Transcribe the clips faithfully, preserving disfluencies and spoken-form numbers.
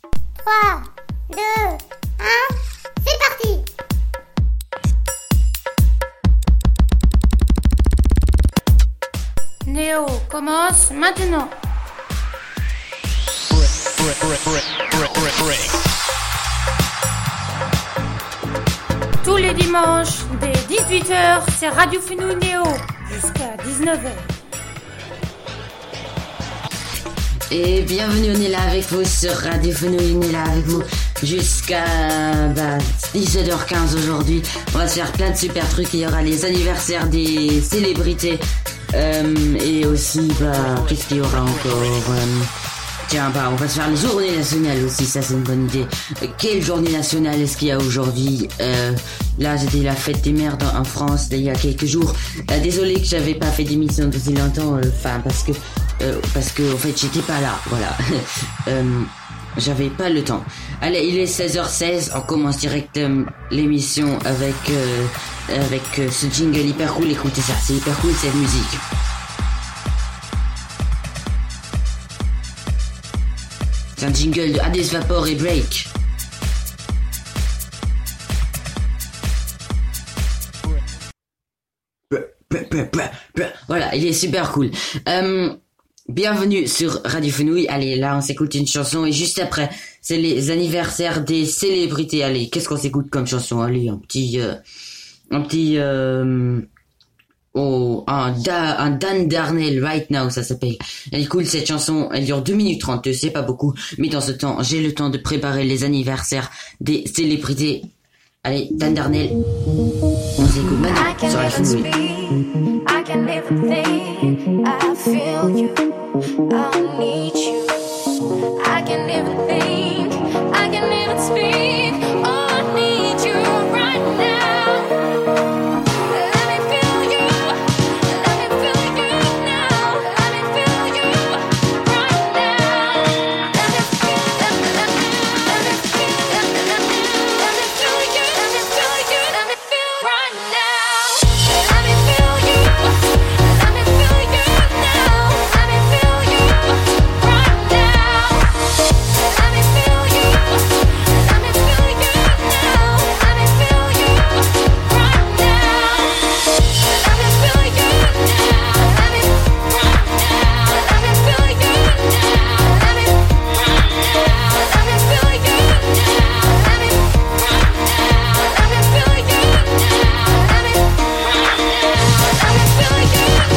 trois, deux, un, c'est parti! Néo commence maintenant. Tous les dimanches, dès dix-huit heures, c'est Radio Fenouil Néo, jusqu'à dix-neuf heures. Et bienvenue, on est là avec vous sur Radio Fenouil, on est là avec vous jusqu'à bah, dix-sept heures quinze aujourd'hui. On va se faire plein de super trucs, il y aura les anniversaires des célébrités euh, et aussi, bah, qu'est-ce qu'il y aura encore euh, Tiens, bah, on va se faire les journées nationales aussi, ça c'est une bonne idée. Euh, quelle journée nationale est-ce qu'il y a aujourd'hui euh, Là, c'était la fête des mères en France il y a quelques jours. Euh, désolé que j'avais pas fait d'émission depuis longtemps, enfin, euh, parce que Euh, parce que en fait j'étais pas là, voilà. euh, j'avais pas le temps. Allez, il est seize heures seize, on commence direct euh, l'émission avec euh, avec euh, ce jingle hyper cool. Écoutez ça, c'est hyper cool cette musique. C'est un jingle de Hades Vapor et Break. Voilà, il est super cool. Euh, Bienvenue sur Radio Fenouil. Allez, là, on s'écoute une chanson et juste après, c'est les anniversaires des célébrités. Allez, qu'est-ce qu'on s'écoute comme chanson? Allez, un petit, euh, un petit, euh, oh, un, da, un Dan Darnell, Right Now, ça s'appelle. Elle est cool, cette chanson. Elle dure deux minutes trente, c'est pas beaucoup. Mais dans ce temps, j'ai le temps de préparer les anniversaires des célébrités. Allez, Dan Darnell. On s'écoute maintenant sur Radio Fenouil. I can never think, I feel you, I need you. I can never think, I can never speak, oh I need you right now. Let me feel you, let me feel you now. Let me feel you right now. Let me feel, let me, let me, let me feel, let me, let me, let me feel you, let me feel you, let me feel right now. Let me feel you. Let me feel you now. Let me feel you right now. Let me feel you. Let me feel you now. Let me feel you right now. Let me feel you now. Let me right now. Let me feel you now. Let me right now. Let me feel you now. Let me right now. Let me feel you now. Let me right now. Let me feel you.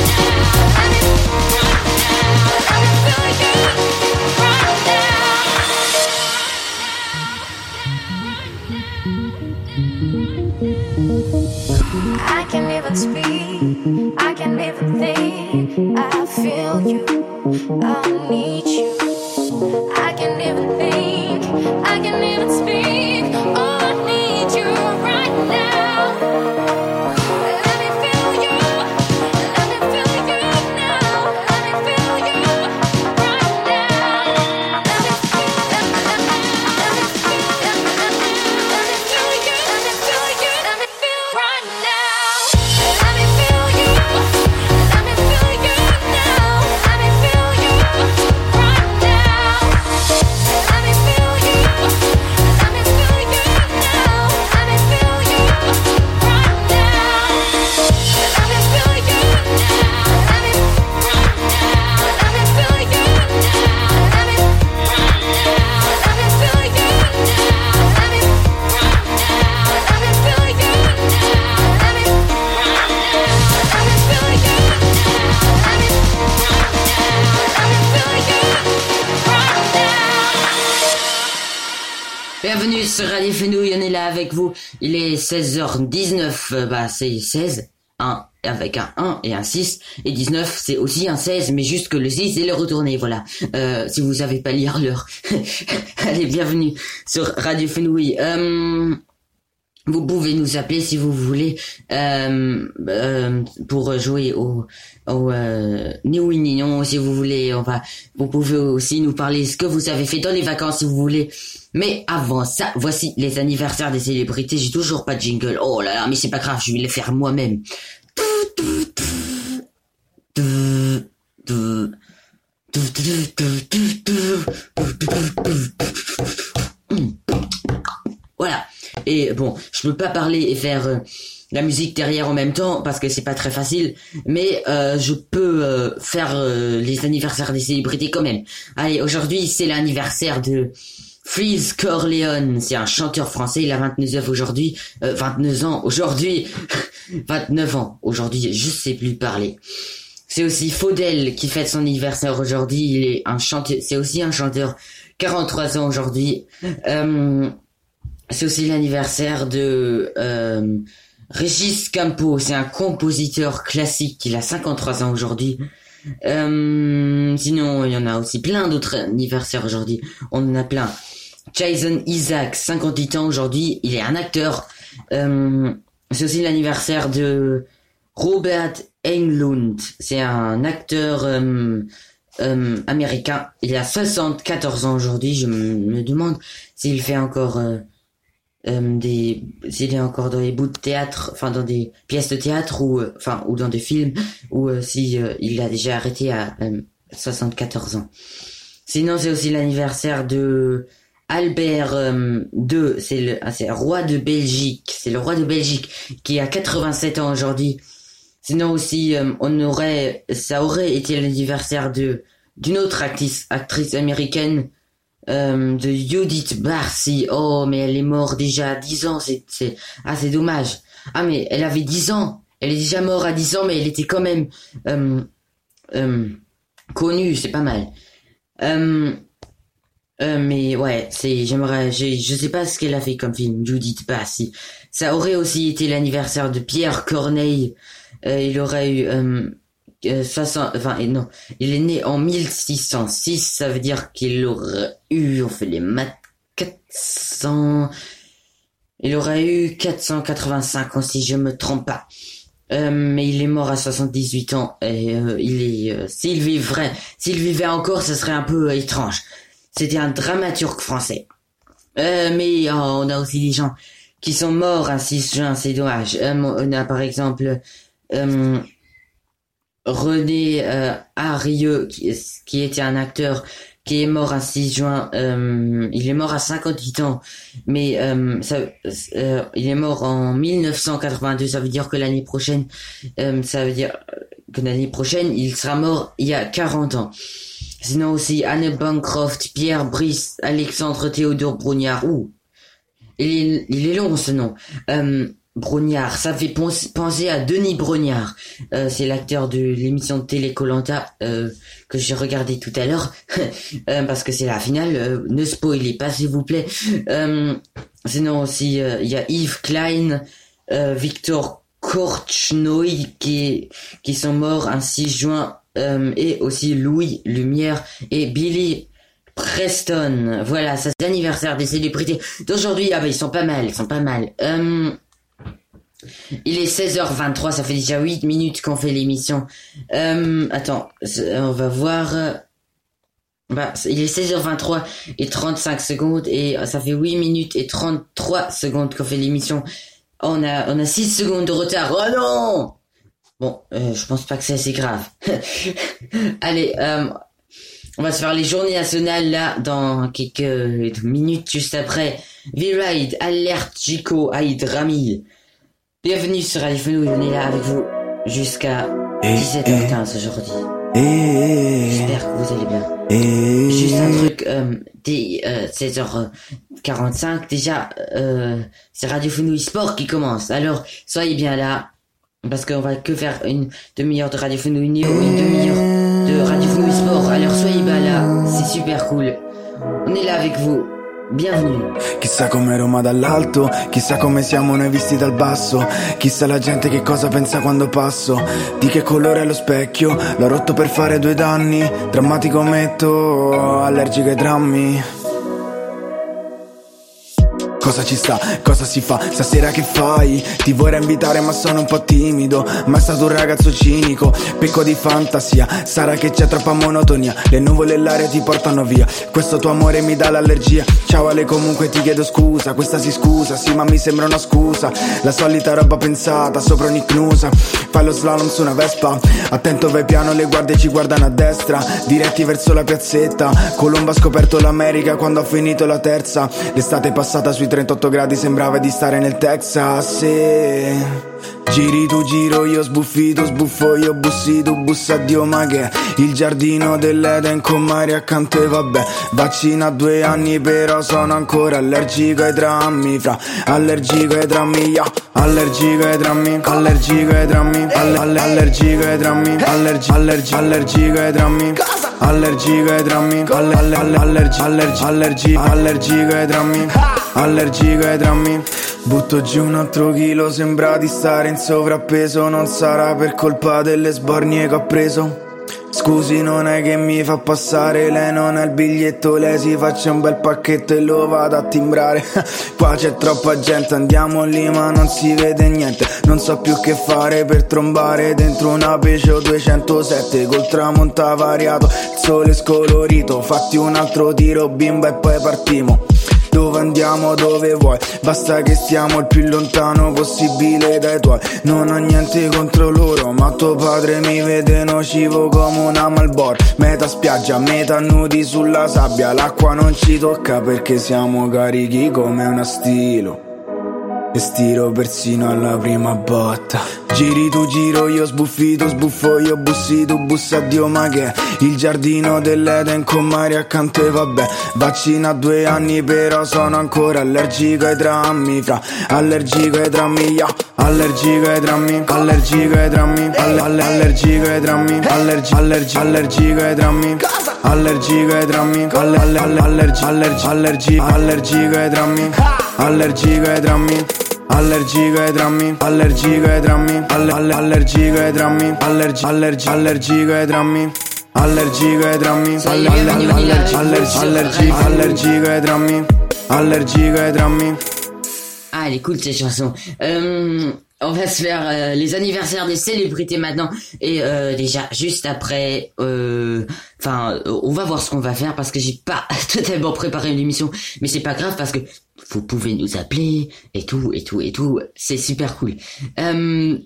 I can never speak, I can never think, I feel you, I need you. I can never think, I can never speak, oh I need you right now. Let me feel you, let me feel you now. Let me feel you right now. Let me feel, let me, let me, let me feel, let me, let me, let me feel you, let me feel you, let me feel right now. Let me feel you, let me feel you now. Let me feel you right now. Let me feel you, let me feel you now. Let me feel you right now. Let me feel you now. Let me right now. Let me feel you now. Let me right now. Let me feel you now. Let me right now. Let me feel you now. Let me right now. Let me feel you now. Let me right now. Let me feel you right now. Bienvenue sur Radio Fenouil, on est là avec vous. Il est seize heures dix-neuf, euh, bah c'est seize, un avec un un et un six, et dix-neuf c'est aussi un seize, mais juste que le six est le retourné, voilà. Euh, si vous savez pas lire l'heure. Allez, bienvenue sur Radio Fenouil. Euh, Vous pouvez nous appeler si vous voulez euh, euh, pour jouer au, au euh, ni oui ni non si vous voulez. On va, vous pouvez aussi nous parler ce que vous avez fait dans les vacances si vous voulez. Mais avant ça, voici les anniversaires des célébrités. J'ai toujours pas de jingle. Oh là là, mais c'est pas grave, je vais les faire moi-même. Et bon, je peux pas parler et faire euh, la musique derrière en même temps parce que c'est pas très facile, mais euh, je peux euh, faire euh, les anniversaires des célébrités quand même. Allez, aujourd'hui c'est l'anniversaire de Freeze Corleone, c'est un chanteur français, il a vingt-neuf ans aujourd'hui, euh, vingt-neuf ans aujourd'hui, vingt-neuf ans aujourd'hui, je sais plus parler. C'est aussi Faudel qui fête son anniversaire aujourd'hui, il est un chanteur, c'est aussi un chanteur, quarante-trois ans aujourd'hui. Euh, c'est aussi l'anniversaire de euh, Régis Campo, c'est un compositeur classique, il a cinquante-trois ans aujourd'hui. Euh, sinon, il y en a aussi plein d'autres anniversaires aujourd'hui, on en a plein. Jason Isaac, cinquante-huit ans aujourd'hui, il est un acteur. Euh, c'est aussi l'anniversaire de Robert Englund, c'est un acteur euh, euh, américain. Il a soixante-quatorze ans aujourd'hui. Je me demande s'il fait encore euh, euh, des, s'il est encore dans les bouts de théâtre, enfin dans des pièces de théâtre ou, euh, enfin ou dans des films, ou euh, si euh, il a déjà arrêté à euh, soixante-quatorze ans. Sinon, c'est aussi l'anniversaire de Albert euh, deux, c'est le ah, c'est roi de Belgique, c'est le roi de Belgique qui a quatre-vingt-sept ans aujourd'hui. Sinon aussi euh, on aurait ça aurait été l'anniversaire de d'une autre actrice actrice américaine euh, de Judith Barcy. Oh mais elle est morte déjà à dix ans, c'est c'est ah c'est dommage. Ah mais elle avait dix ans, elle est déjà morte à dix ans mais elle était quand même euh, euh, connue, c'est pas mal. Euh, Euh, mais ouais, c'est, j'aimerais, j'ai, je sais pas ce qu'elle a fait comme film, Judith Barcy. Ça aurait aussi été l'anniversaire de Pierre Corneille. Euh, il aurait eu, euh, euh, soixante, enfin, et non, il est né en mille six cent six, ça veut dire qu'il aurait eu, on fait les maths, quatre cents, il aurait eu quatre cent quatre-vingt-cinq ans si je me trompe pas. Euh, mais il est mort à soixante-dix-huit ans et euh, il est, euh, s'il vivrait, s'il vivait encore, ça serait un peu euh, étrange. C'était un dramaturge français. Euh, mais oh, on a aussi des gens qui sont morts un six juin, c'est dommage. Euh, on a par exemple euh, René euh, Harieux, qui, qui était un acteur qui est mort un six juin. Euh, il est mort à cinquante-huit ans, mais euh, ça, euh, il est mort en mille neuf cent quatre-vingt-deux. Ça veut dire que l'année prochaine, euh, ça veut dire que l'année prochaine, il sera mort il y a quarante ans. Sinon aussi Anne Bancroft, Pierre Brice, Alexandre Théodore Brognard. Ouh, il est, il est long ce nom. Euh, Brognard, ça fait penser à Denis Brognard. Euh, c'est l'acteur de l'émission de télé Koh-Lanta euh, que j'ai regardé tout à l'heure euh, parce que c'est la finale. Euh, ne spoilez pas s'il vous plaît. Euh, sinon aussi il euh, y a Yves Klein, euh, Victor Korchnoi qui qui sont morts un six juin. Euh, et aussi Louis Lumière et Billy Preston. Voilà, ça c'est l'anniversaire des célébrités d'aujourd'hui. Ah bah ils sont pas mal, ils sont pas mal. Euh, il est seize heures vingt-trois, ça fait déjà huit minutes qu'on fait l'émission. Euh, attends, on va voir. Bah, il est seize heures vingt-trois et trente-cinq secondes et ça fait huit minutes et trente-trois secondes qu'on fait l'émission. On a, on a six secondes de retard. Oh non! Bon, euh, je pense pas que c'est assez grave. Allez, euh, on va se faire les journées nationales là dans quelques minutes juste après. V-Ride, Alerte, Chico, Aïd, Rami. Bienvenue sur Radio Fenouil, on est là avec vous jusqu'à dix-sept heures quinze aujourd'hui. J'espère que vous allez bien. Juste un truc, euh, dès euh, seize heures quarante-cinq, déjà, euh, c'est Radio Fenouil Sport qui commence. Alors, soyez bien là. Parce qu'on va que faire une demi-heure de Radio Fenouil Néo, une demi-heure de Radio Fenouil Sport. Alors soyez bah là, c'est super cool. On est là avec vous. Bienvenue. Chissà come Roma dall'alto, chissà come siamo noi visti dal basso, chissà la gente che cosa pensa quando passo, di che colore è lo specchio, l'ho rotto per fare due danni, drammatico metto, allergico ai drammi. Cosa ci sta, cosa si fa, stasera che fai? Ti vorrei invitare ma sono un po' timido, ma è stato un ragazzo cinico, pecco di fantasia, sarà che c'è troppa monotonia, le nuvole e l'aria ti portano via, questo tuo amore mi dà l'allergia, ciao Ale comunque ti chiedo scusa, questa si scusa, sì ma mi sembra una scusa, la solita roba pensata sopra un'icnusa, fai lo slalom su una Vespa, attento vai piano le guardie ci guardano a destra, diretti verso la piazzetta, Colombo ha scoperto l'America quando ha finito la terza, l'estate passata sui trentotto gradi sembrava di stare nel Texas, sì. Giri tu giro io sbuffito sbuffo io bussi tu bussa Dio ma che il giardino dell'Eden con mare accanto e vabbè. Vaccina a due anni però sono ancora allergico ai drammi, fra allergico ai drammi, yeah. Allergico ai drammi, allergico ai drammi, alle, alle, allergico ai drammi, allergi, allergi, allergico ai drammi, allergico ai drammi, alle, alle, alle, allergi, allergi, allergi, allergico ai drammi, allergico ai drammi. Butto giù un altro chilo, sembra di stare in sovrappeso, non sarà per colpa delle sbornie che ho preso. Scusi, non è che mi fa passare, lei non ha il biglietto, lei si faccia un bel pacchetto e lo vado a timbrare. Qua c'è troppa gente, andiamo lì ma non si vede niente. Non so più che fare per trombare dentro una Peugeot duecentosette col tramonto variato, il sole scolorito. Fatti un altro tiro bimba e poi partiamo. Dove andiamo, dove vuoi, basta che stiamo il più lontano possibile dai tuoi. Non ho niente contro loro, ma tuo padre mi vede nocivo come una Marlboro. Metà spiaggia, metà nudi sulla sabbia, l'acqua non ci tocca perché siamo carichi come una stilo. E stiro persino alla prima botta. Giri tu giro io sbuffito sbuffo io bussi tu bussa Dio ma che il giardino dell'Eden con mare accanto e vabbè. Vaccina a due anni però sono ancora allergico ai drammi, fra allergico ai drammi, yeah. Allergico ai drammi, allergico ai drammi, alle, alle, allergico ai drammi, allergi, allergi, allergico ai drammi, allergico ai drammi, alle, alle, alle, allergi, allergi, allergi, allergico ai drammi, allergico ai drammi. Allergico ai drammi, allergico ai drammi, alle, alle, allergico ai drammi, allergi, allergi, allergico ai drammi, allergico ai drammi, alle, alle, allergi, allergi, allergi, allergico ai drammi, allergico ai drammi. Ah, elle est cool cette chanson. Euh, on va se faire euh, les anniversaires des célébrités maintenant. Et euh, déjà, juste après, enfin, euh, on va voir ce qu'on va faire parce que j'ai pas totalement préparé une émission. Mais c'est pas grave parce que vous pouvez nous appeler et tout, et tout, et tout. C'est super cool. Euh,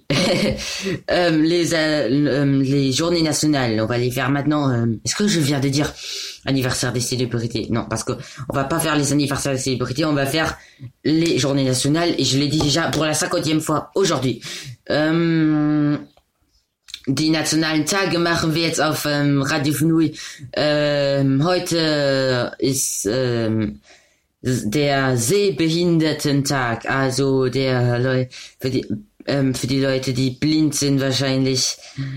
euh, les, euh, les journées nationales, on va les faire maintenant. Euh, est-ce que je viens de dire anniversaire des célébrités? Non, parce que on va pas faire les anniversaires des célébrités, on va faire les journées nationales. Et je l'ai dit déjà pour la cinquantième fois aujourd'hui. Euh, Die nationalen Tage machen wir jetzt auf ähm, Radio Fnui. Ähm, heute ist ähm, der Sehbehindertentag, also der Leute für die ähm, für die Leute, die blind sind wahrscheinlich.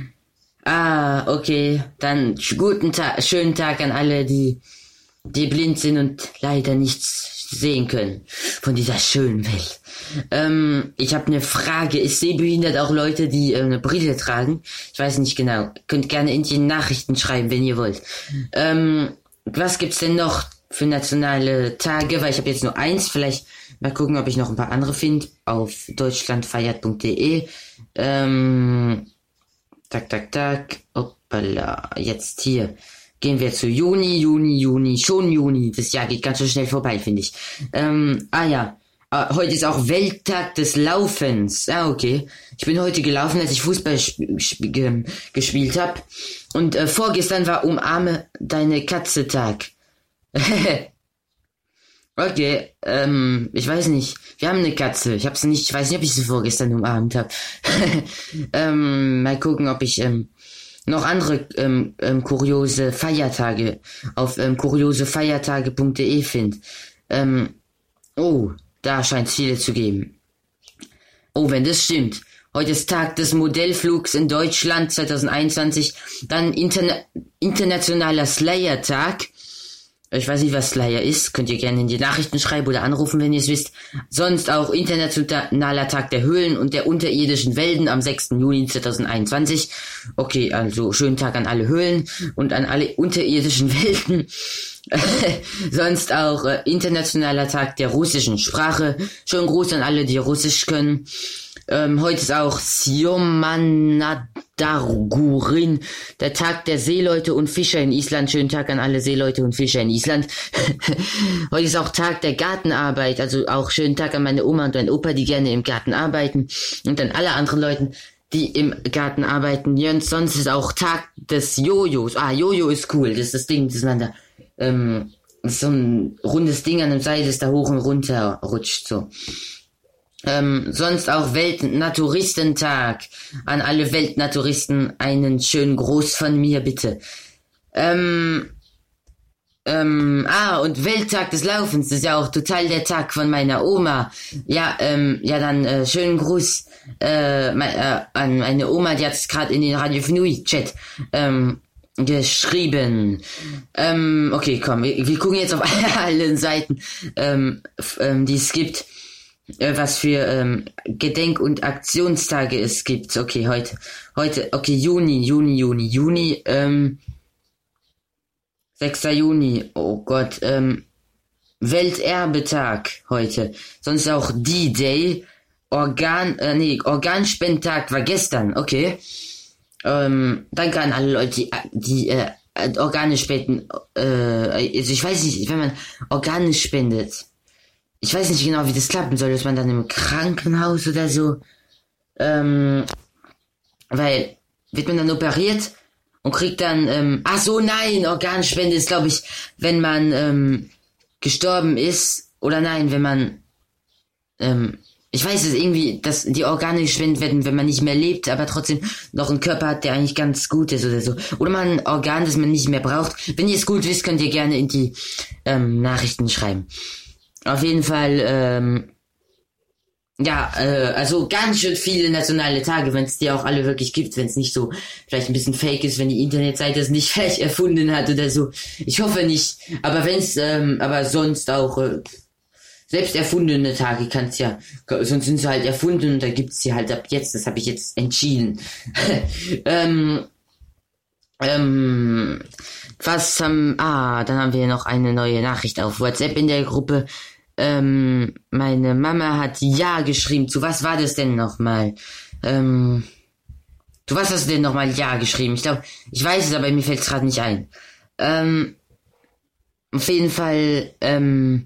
Ah, okay, dann guten Tag, schönen Tag an alle, die die blind sind und leider nichts sehen können von dieser schönen Welt. Ähm, ich habe eine Frage, ist sehbehindert auch Leute, die äh, eine Brille tragen? Ich weiß nicht genau, könnt gerne in die Nachrichten schreiben, wenn ihr wollt. Ähm, was gibt's denn noch für nationale Tage, weil ich habe jetzt nur eins, vielleicht mal gucken, ob ich noch ein paar andere finde, auf deutschlandfeiert punkt de. Ähm, tak, tak, tak, hoppala, jetzt hier. Gehen wir zu Juni, Juni, Juni, schon Juni. Das Jahr geht ganz so schnell vorbei, finde ich. Ähm, ah ja, ah, heute ist auch Welttag des Laufens. Ah, okay. Ich bin heute gelaufen, als ich Fußball sp- sp- gespielt habe. Und äh, vorgestern war Umarme deine Katze Tag. Okay, ähm, ich weiß nicht. Wir haben eine Katze. Ich hab's nicht, ich weiß nicht, ob ich sie vorgestern umarmt habe. ähm, mal gucken, ob ich ähm, noch andere ähm, ähm, kuriose Feiertage auf ähm, kuriosefeiertage punkt de finde. Ähm, oh, da scheint es viele zu geben. Oh, wenn das stimmt. Heute ist Tag des Modellflugs in Deutschland zwanzig einundzwanzig. Dann Interna- internationaler Slayer-Tag. Ich weiß nicht, was Slayer ist. Könnt ihr gerne in die Nachrichten schreiben oder anrufen, wenn ihr es wisst. Sonst auch Internationaler Tag der Höhlen und der unterirdischen Welten am sechsten Juni zwanzig einundzwanzig. Okay, also schönen Tag an alle Höhlen und an alle unterirdischen Welten. Sonst auch äh, Internationaler Tag der russischen Sprache. Schönen Gruß an alle, die Russisch können. Ähm, heute ist auch Siomanadagurin, der Tag der Seeleute und Fischer in Island. Schönen Tag an alle Seeleute und Fischer in Island. Heute ist auch Tag der Gartenarbeit, also auch schönen Tag an meine Oma und meinen Opa, die gerne im Garten arbeiten. Und an alle anderen Leuten, die im Garten arbeiten. Jens, sonst ist auch Tag des Jojos. Ah, Jojo ist cool, das ist das Ding, das man da ähm, so ein rundes Ding an dem Seil, das da hoch und runter rutscht, so. Ähm, sonst auch Weltnaturistentag. An alle Weltnaturisten einen schönen Gruß von mir, bitte. Ähm, ähm, ah, und Welttag des Laufens, das ist ja auch total der Tag von meiner Oma. Ja, ähm, ja dann, äh, schönen Gruß, äh, me- äh an meine Oma, die hat es gerade in den Radio Fnui Chat, ähm, geschrieben. Ähm, okay, komm, wir, wir gucken jetzt auf allen Seiten, ähm, f- ähm, die es gibt, äh, was für ähm, Gedenk- und Aktionstage es gibt. Okay, heute, heute, okay, Juni, Juni, Juni, Juni, ähm, sechster Juni, oh Gott, ähm, Welterbetag heute, sonst auch D-Day, Organ, äh, nee, Organspendtag war gestern, okay. Ähm, danke an alle Leute, die, die äh, Organe spenden. Äh, also ich weiß nicht, wenn man Organe spendet, ich weiß nicht genau, wie das klappen soll, dass man dann im Krankenhaus oder so, ähm, weil, wird man dann operiert und kriegt dann, ähm, ach so, nein, Organspende ist, glaube ich, wenn man, ähm, gestorben ist, oder nein, wenn man, ähm, ich weiß es irgendwie, dass die Organe gespendet werden, wenn man nicht mehr lebt, aber trotzdem noch einen Körper hat, der eigentlich ganz gut ist oder so. Oder man ein Organ, das man nicht mehr braucht. Wenn ihr es gut wisst, könnt ihr gerne in die ähm, Nachrichten schreiben. Auf jeden Fall, ähm, ja, äh, also ganz schön viele nationale Tage, wenn es die auch alle wirklich gibt, wenn es nicht so vielleicht ein bisschen fake ist, wenn die Internetseite es nicht vielleicht erfunden hat oder so. Ich hoffe nicht, aber wenn es, ähm, aber sonst auch, äh, selbst erfundene Tage kann's ja, sonst sind sie halt erfunden und da gibt's sie halt ab jetzt, das habe ich jetzt entschieden. ähm, ähm, was haben, ah, dann haben wir noch eine neue Nachricht auf WhatsApp in der Gruppe. Ähm, meine Mama hat Ja geschrieben. Zu was war das denn nochmal? Ähm, zu was hast du denn nochmal Ja geschrieben? Ich glaube, ich weiß es, aber mir fällt es gerade nicht ein. Ähm, auf jeden Fall, ähm,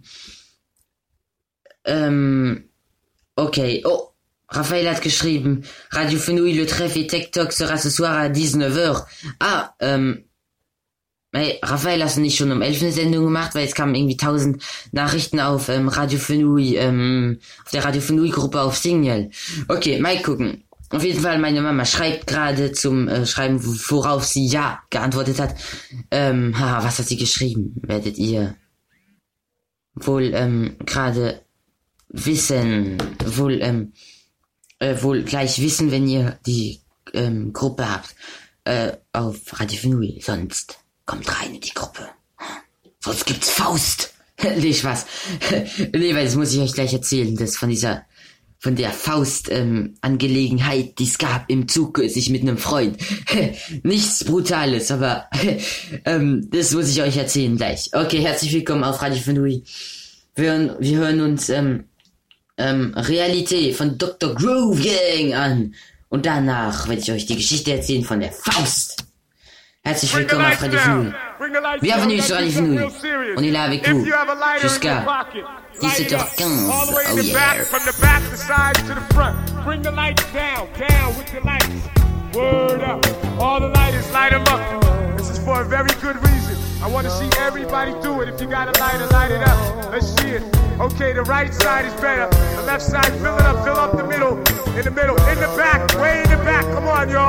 ähm, okay. Oh, Raphaël hat geschrieben, Radio Fenouil, le trèfle TikTok sera ce soir à dix-neuf heures. Ah, ähm, hey, Raphaël, hast du nicht schon um elf eine Sendung gemacht? Weil es kamen irgendwie tausend Nachrichten auf ähm, Radio Fenouil, ähm, auf der Radio Fenouil Gruppe auf Signal. Okay, mal gucken. Auf jeden Fall, meine Mama schreibt gerade zum äh, Schreiben, worauf sie Ja geantwortet hat. Ähm, haha, was hat sie geschrieben? Werdet ihr wohl ähm, gerade wissen, wohl ähm, äh, wohl gleich wissen, wenn ihr die ähm, Gruppe habt äh, auf Radio Fenouil. Sonst kommt rein in die Gruppe. Sonst gibt's Faust. Nee, Spaß. Nee, weil das muss ich euch gleich erzählen, das von dieser, von der Faust-Angelegenheit, ähm, die es gab im Zug kürzlich mit einem Freund. Nichts Brutales, aber ähm, das muss ich euch erzählen gleich. Okay, herzlich willkommen auf Radio Fenouil. Wir hören, wir hören uns ähm, ähm, Realität von Doktor Groove Gang an. Und danach werde ich euch die Geschichte erzählen von der Faust. Herzlich willkommen auf Radio Fenouil. Bienvenue sur Radio Fenouil. On est là avec vous jusqu'à dix-sept heures quinze. Oh yeah. From the back, the side to the front. Bring the lights down, down with the lights. Word up. All the lighters, light them up. This is for a very good reason. I want to see everybody do it. If you got a lighter, light it up. Let's see it. Okay, the right side is better. The left side, fill it up, fill up the middle. In the middle, in the back, way in the back. Come on, y'all.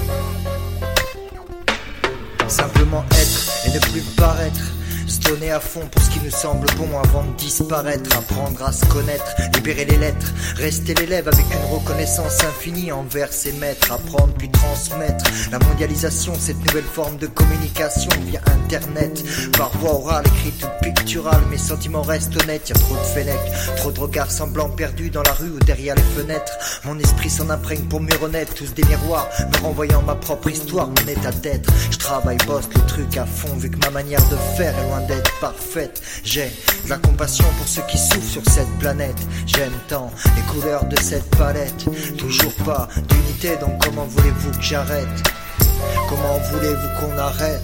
Simplement être et ne plus paraître. Se donner à fond pour ce qui nous semble bon avant de disparaître. Apprendre à se connaître, libérer les lettres. Rester l'élève avec une reconnaissance infinie envers ses maîtres. Apprendre puis transmettre. La mondialisation, cette nouvelle forme de communication via internet. Par voie orale, écrite ou picturale, mes sentiments restent honnêtes. Y'a trop de fenêtres, trop de regards semblants perdus dans la rue ou derrière les fenêtres. Mon esprit s'en imprègne pour mieux renaître. Tous des miroirs, me renvoyant ma propre histoire, mon état d'être. Je travaille, bosse le truc à fond, vu que ma manière de faire est loin d'être parfaite. J'ai de la compassion pour ceux qui souffrent sur cette planète. J'aime tant les couleurs de cette palette. Toujours pas d'unité, donc comment voulez-vous que j'arrête? Comment voulez-vous qu'on arrête?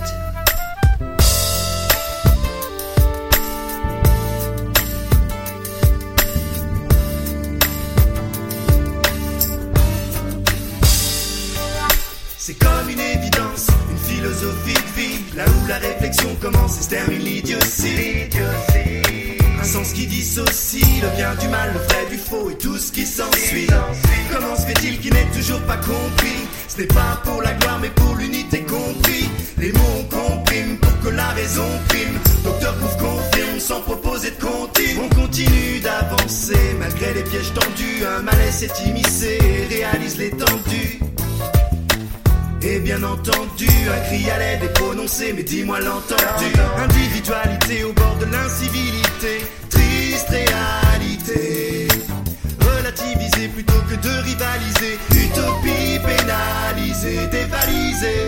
C'est comme une évidence, une philosophie de vie. là où la réflexion commence et se termine l'idiotie. Un sens qui dissocie le bien du mal, le vrai du faux et tout ce qui s'ensuit. Comment se fait-il qu'il n'est toujours pas compris? Ce n'est pas pour la gloire mais pour l'unité compris. Les mots on comprime pour que la raison prime. Docteur Pouf confirme sans proposer de comptine. On continue d'avancer malgré les pièges tendus. Un malaise s'est immiscé et réalise l'étendue. Et bien entendu, un cri à l'aide est prononcé, mais dis-moi l'entendu. Individualité au bord de l'incivilité, triste réalité. Relativiser plutôt que de rivaliser, utopie pénalisée, dévalisée.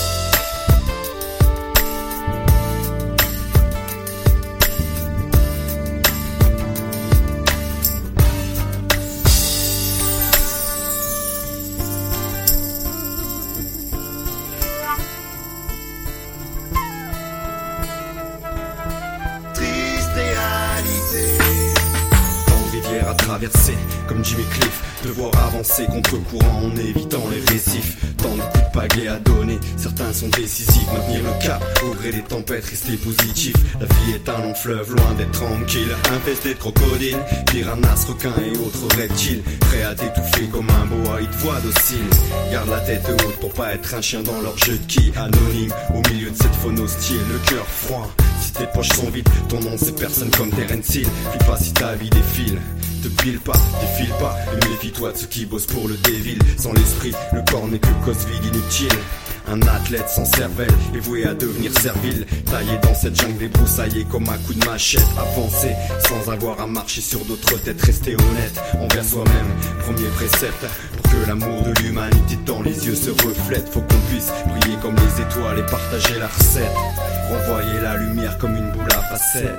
Traverser comme Jimmy Cliff, devoir avancer contre courant en évitant les récifs. Tant de coups de pagaie à donner, certains sont décisifs. Maintenir le cap au gré des tempêtes, rester positif. La vie est un long fleuve, loin d'être tranquille. Infesté de crocodiles, piranhas, requins et autres reptiles. Prêt à t'étouffer comme un boa, ils te voient docile. Garde la tête haute pour pas être un chien dans leur jeu de qui. Anonyme au milieu de cette faune hostile, le cœur froid. Si tes poches sont vides, ton nom c'est personne comme Terence Hill. Flippe pas si ta vie défile. Te pile pas, défile pas, et méfie-toi de ceux qui bossent pour le dévil. Sans l'esprit, le corps n'est que cause vide inutile. Un athlète sans cervelle est voué à devenir servile. Taillé dans cette jungle débroussaillée comme un coup de machette. Avancer sans avoir à marcher sur d'autres têtes. Rester honnête envers soi-même, premier précepte. Pour que l'amour de l'humanité dans les yeux se reflète, faut qu'on puisse briller comme les étoiles et partager la recette. Renvoyer la lumière comme une boule à facettes.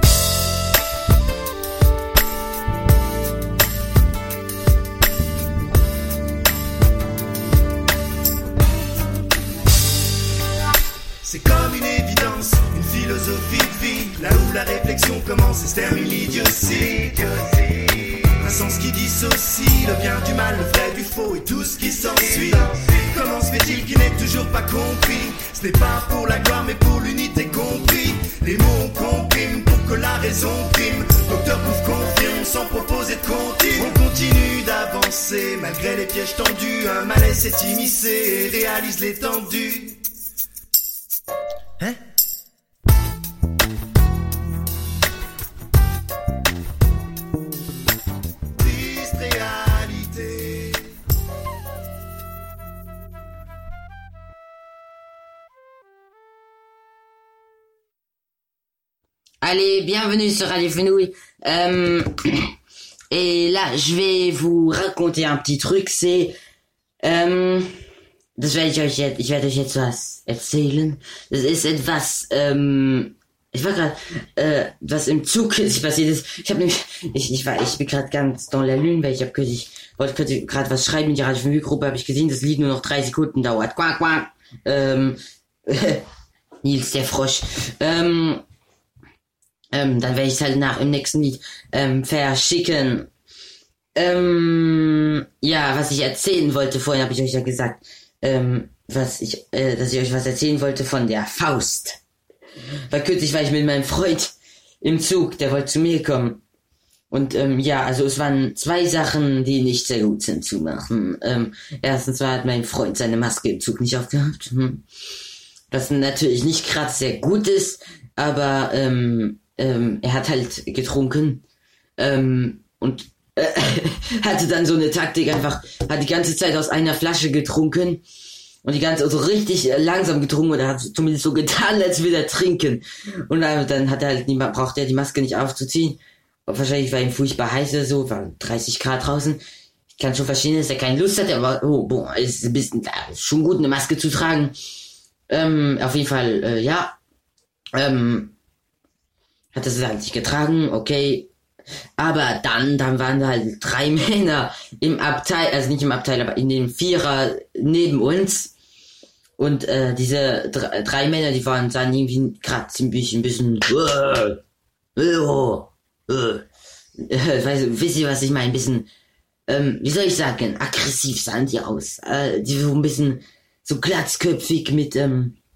C'est comme une évidence, une philosophie de vie, là où la réflexion commence et se termine l'idiotie. Un sens qui dissocie le bien du mal, le vrai du faux et tout ce qui s'ensuit. Comment se fait-il qu'il n'est toujours pas compris? Ce n'est pas pour la gloire mais pour l'unité compris. Les mots on comprime pour que la raison prime. Docteur Pouf confirme sans proposer de comptine. On continue d'avancer malgré les pièges tendus. Un malaise s'est immiscé et réalise l'étendue. Hein? Triste réalité. Allez, bienvenue sur Radio Fenouil. Euh, et là, je vais vous raconter un petit truc, c'est... Ähm, das werde ich euch jetzt, ich werde euch jetzt was erzählen. Das ist etwas, ähm, ich war gerade, äh, was im Zug sich passiert ist. Ich habe nämlich, ich, ich war, ich bin gerade ganz dans la lune, weil ich habe kürzlich, wollte gerade was schreiben in die Radio Fenouil Gruppe, habe ich gesehen, das Lied nur noch drei Sekunden dauert. Quack, quack. Ähm, Nils, der Frosch. Ähm, ähm, dann werde ich es halt nach im nächsten Lied, ähm, verschicken. Ähm, ja, was ich erzählen wollte, vorhin habe ich euch ja gesagt, ähm, was ich, äh, dass ich euch was erzählen wollte von der Faust. Weil kürzlich war ich mit meinem Freund im Zug, der wollte zu mir kommen. Und, ähm, ja, also es waren zwei Sachen, die nicht sehr gut sind zu machen. Ähm, erstens war hat mein Freund seine Maske im Zug nicht aufgehabt. Hm. Was natürlich nicht gerade sehr gut ist, aber, ähm, ähm, er hat halt getrunken, ähm, und äh, hatte dann so eine Taktik, einfach, hat die ganze Zeit aus einer Flasche getrunken und die ganze, so richtig langsam getrunken oder hat zumindest so getan, als würde er trinken. Und dann, dann hat er halt niemand, braucht er die Maske nicht aufzuziehen. Und wahrscheinlich war ihm furchtbar heiß oder so, war dreißig Grad draußen. Ich kann schon verstehen, dass er keine Lust hat, aber, oh, boah, ist ein bisschen, ist schon gut, eine Maske zu tragen. Ähm, auf jeden Fall, äh, ja, ähm, hat er es halt nicht getragen, okay. Aber dann, dann waren da halt drei Männer im Abteil, also nicht im Abteil, aber in dem Vierer neben uns. Und äh, diese drei, drei Männer, die waren dann irgendwie gerade ziemlich ein bisschen, äh, äh, äh, äh, weiß, wisst ihr, was ich meine? Ein bisschen, ähm, wie soll ich sagen, aggressiv sahen die aus. Äh, die so ein bisschen so glatzköpfig mit, ähm,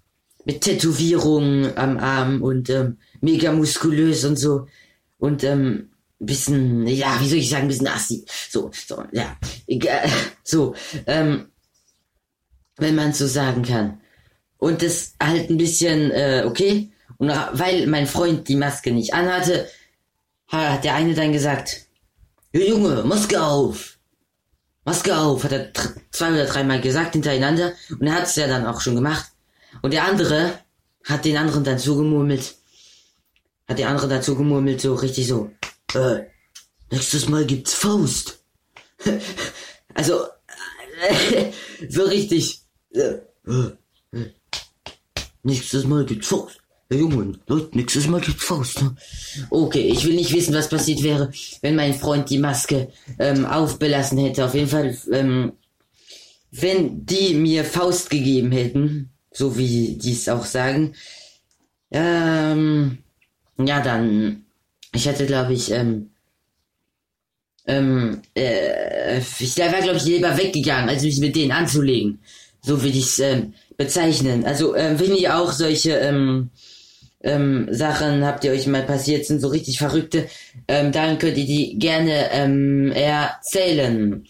mit Tätowierungen am Arm und ähm, mega muskulös und so. Und ähm, bisschen, ja, wie soll ich sagen, bisschen assi. So, so, ja. Egal. So, ähm, wenn man so sagen kann. Und das halt ein bisschen, äh, okay. Und weil mein Freund die Maske nicht anhatte, hat der eine dann gesagt, Junge, Maske auf! Maske auf, hat er tr- zwei oder dreimal gesagt hintereinander. Und er hat es ja dann auch schon gemacht. Und der andere hat den anderen dann zugemurmelt. Hat der andere dazu gemurmelt, so richtig so, äh, nächstes Mal gibt's Faust. Also, äh, so richtig, äh, äh, nächstes Mal gibt's Faust. Ja, Junge, Leute, nächstes Mal gibt's Faust. Ne? Okay, ich will nicht wissen, was passiert wäre, wenn mein Freund die Maske ähm, aufbelassen hätte. Auf jeden Fall, ähm, wenn die mir Faust gegeben hätten, so wie die es auch sagen, ähm, ja, dann, ich hätte, glaube ich, ähm, ähm, äh, ich wäre, glaube ich, lieber weggegangen, als mich mit denen anzulegen. So würde ich es ähm, bezeichnen. Also, ähm, wenn ihr auch solche, ähm, ähm, Sachen habt, die euch mal passiert sind, so richtig verrückte, ähm, dann könnt ihr die gerne, ähm, erzählen.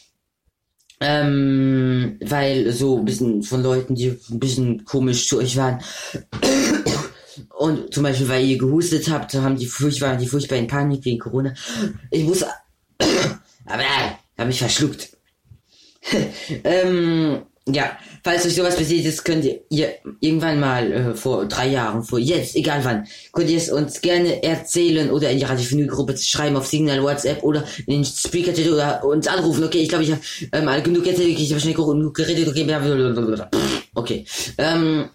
Ähm, weil so ein bisschen von Leuten, die ein bisschen komisch zu euch waren, und zum Beispiel, weil ihr gehustet habt, haben die furchtbar, die furchtbar in Panik wegen Corona. Ich muss, aber äh, hab mich verschluckt. ähm, ja, falls euch sowas passiert ist, könnt ihr, ihr irgendwann mal, äh, vor drei Jahren, vor jetzt, egal wann, könnt ihr es uns gerne erzählen oder in die Radio Vinyl Gruppe schreiben, auf Signal, WhatsApp oder in den Speaker oder uns anrufen. Okay, ich glaube, ich habe ähm, genug erzählt, ich habe schnell genug geredet, okay, blablabla. Okay, ähm,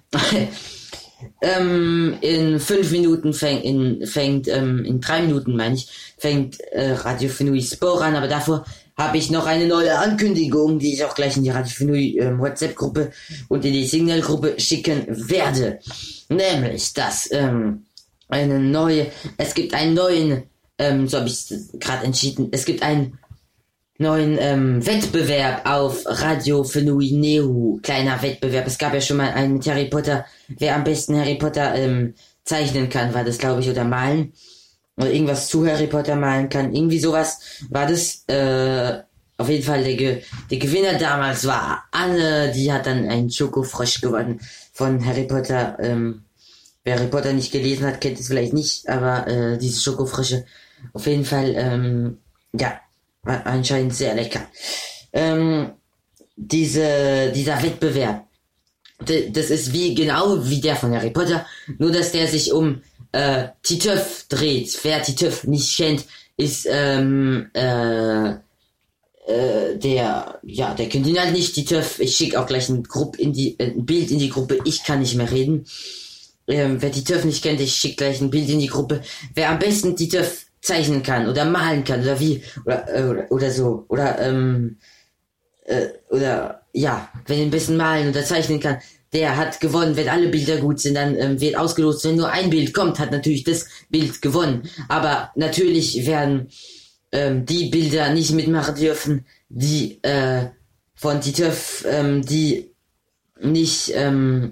Ähm, in fünf Minuten fängt, in, fängt, ähm, in drei Minuten meine ich, fängt äh, Radio Fenui Spore an, aber davor habe ich noch eine neue Ankündigung, die ich auch gleich in die Radio Fenui ähm, WhatsApp-Gruppe und in die Signal-Gruppe schicken werde. Nämlich, dass ähm, eine neue, es gibt einen neuen, ähm, so habe ich gerade entschieden, es gibt einen neuen ähm, Wettbewerb auf Radio Fenui Neo, kleiner Wettbewerb. Es gab ja schon mal einen mit Harry Potter, wer am besten Harry Potter ähm, zeichnen kann, war das, glaube ich, oder malen. Oder irgendwas zu Harry Potter malen kann. Irgendwie sowas war das. Äh, auf jeden Fall, der, Ge- der Gewinner damals war Anne, die hat dann einen Schokofrosch gewonnen von Harry Potter. Ähm, wer Harry Potter nicht gelesen hat, kennt es vielleicht nicht, aber äh, diese Schokofrösche, auf jeden Fall, ähm, ja, anscheinend sehr lecker. Ähm, diese, dieser Wettbewerb, d- das ist wie, genau wie der von Harry Potter, nur dass der sich um, äh, Titeuf dreht. Wer Titeuf nicht kennt, ist, ähm, äh, äh, der, ja, der kennt ihn halt nicht, Titeuf. Ich schicke auch gleich ein, Grupp in die, äh, ein Bild in die Gruppe, ich kann nicht mehr reden. Ähm, wer Titeuf nicht kennt, ich schicke gleich ein Bild in die Gruppe. Wer am besten Titeuf zeichnen kann oder malen kann oder wie oder äh, oder, oder so oder ähm äh, oder ja, wenn er ein bisschen malen oder zeichnen kann, der hat gewonnen. Wenn alle Bilder gut sind, dann ähm, wird ausgelost. Wenn nur ein Bild kommt, hat natürlich das Bild gewonnen. Aber natürlich werden ähm, die Bilder nicht mitmachen dürfen, die äh, von Titeuf, ähm, die nicht ähm,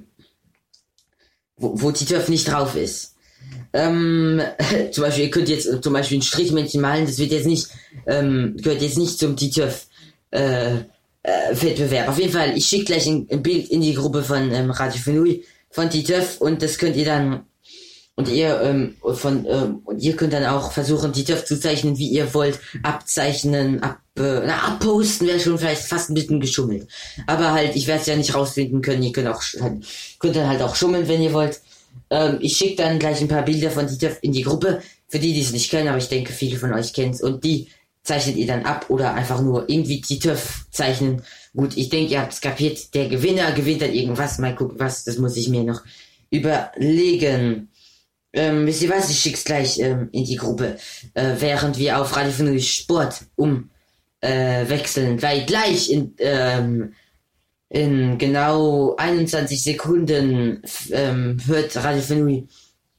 wo, wo Titeuf nicht drauf ist. Ähm, zum Beispiel, ihr könnt jetzt zum Beispiel ein Strichmännchen malen, das wird jetzt nicht, ähm, gehört jetzt nicht zum Titeuf, äh, äh, Wettbewerb. Auf jeden Fall, ich schicke gleich ein, ein Bild in die Gruppe von, ähm, Radio Fenui, von Titeuf, und das könnt ihr dann, und ihr, ähm, von, ähm, und ihr könnt dann auch versuchen, Titeuf zu zeichnen, wie ihr wollt, abzeichnen, ab, äh, na, abposten wäre schon vielleicht fast ein bisschen geschummelt. Aber halt, ich werde es ja nicht rausfinden können, ihr könnt auch, halt, könnt dann halt auch schummeln, wenn ihr wollt. Ähm, ich schicke dann gleich ein paar Bilder von Titeuf in die Gruppe, für die, die es nicht kennen, aber ich denke, viele von euch kennen es, und die zeichnet ihr dann ab oder einfach nur irgendwie Titeuf zeichnen. Gut, ich denke, ihr habt es kapiert, der Gewinner gewinnt dann irgendwas, mal gucken was, das muss ich mir noch überlegen. Ähm, wisst ihr was, ich schick's gleich ähm, in die Gruppe, äh, während wir auf Radio Fenui Sport um äh, wechseln, weil gleich in, ähm, in genau einundzwanzig Sekunden ähm, hört Radio Fenui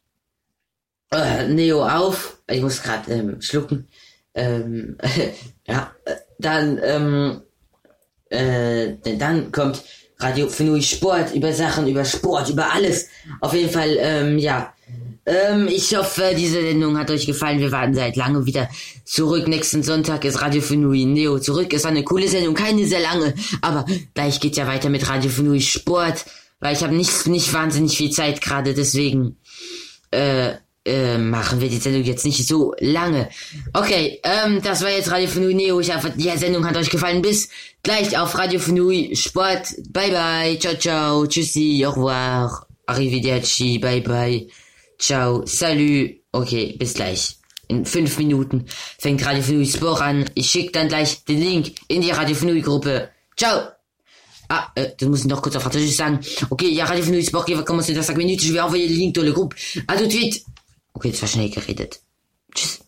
äh, Neo auf. Ich muss gerade ähm, schlucken. Ähm, ja, dann ähm, äh, dann kommt Radio Fenui Sport, über Sachen, über Sport, über alles. Auf jeden Fall, ähm, ja. Ähm, ich hoffe, diese Sendung hat euch gefallen. Wir warten seit langem wieder zurück. Nächsten Sonntag ist Radio Fenui Neo zurück. Ist eine coole Sendung, keine sehr lange. Aber gleich geht's ja weiter mit Radio Fenui Sport. Weil ich habe nicht, nicht wahnsinnig viel Zeit gerade, deswegen, äh, äh, machen wir die Sendung jetzt nicht so lange. Okay, ähm, das war jetzt Radio Fenui Neo. Ich hoffe, die Sendung hat euch gefallen. Bis gleich auf Radio Fenui Sport. Bye bye. Ciao, ciao. Tschüssi. Au revoir. Arrivederci. Bye bye. Ciao. Salut. Okay, bis gleich. In fünf Minuten fängt Radio Fenui Sport an. Ich schicke dann gleich den Link in die Radio Fenui Gruppe. Ciao. Ah, euh, das muss ich noch kurz auf Französisch sagen. Okay, il y a Radio Fenui Sport qui va commencer dans cinq minutes. Je vais envoyer le link dans le groupe. À tout de suite. Okay, das war schnell geredet. Tschüss.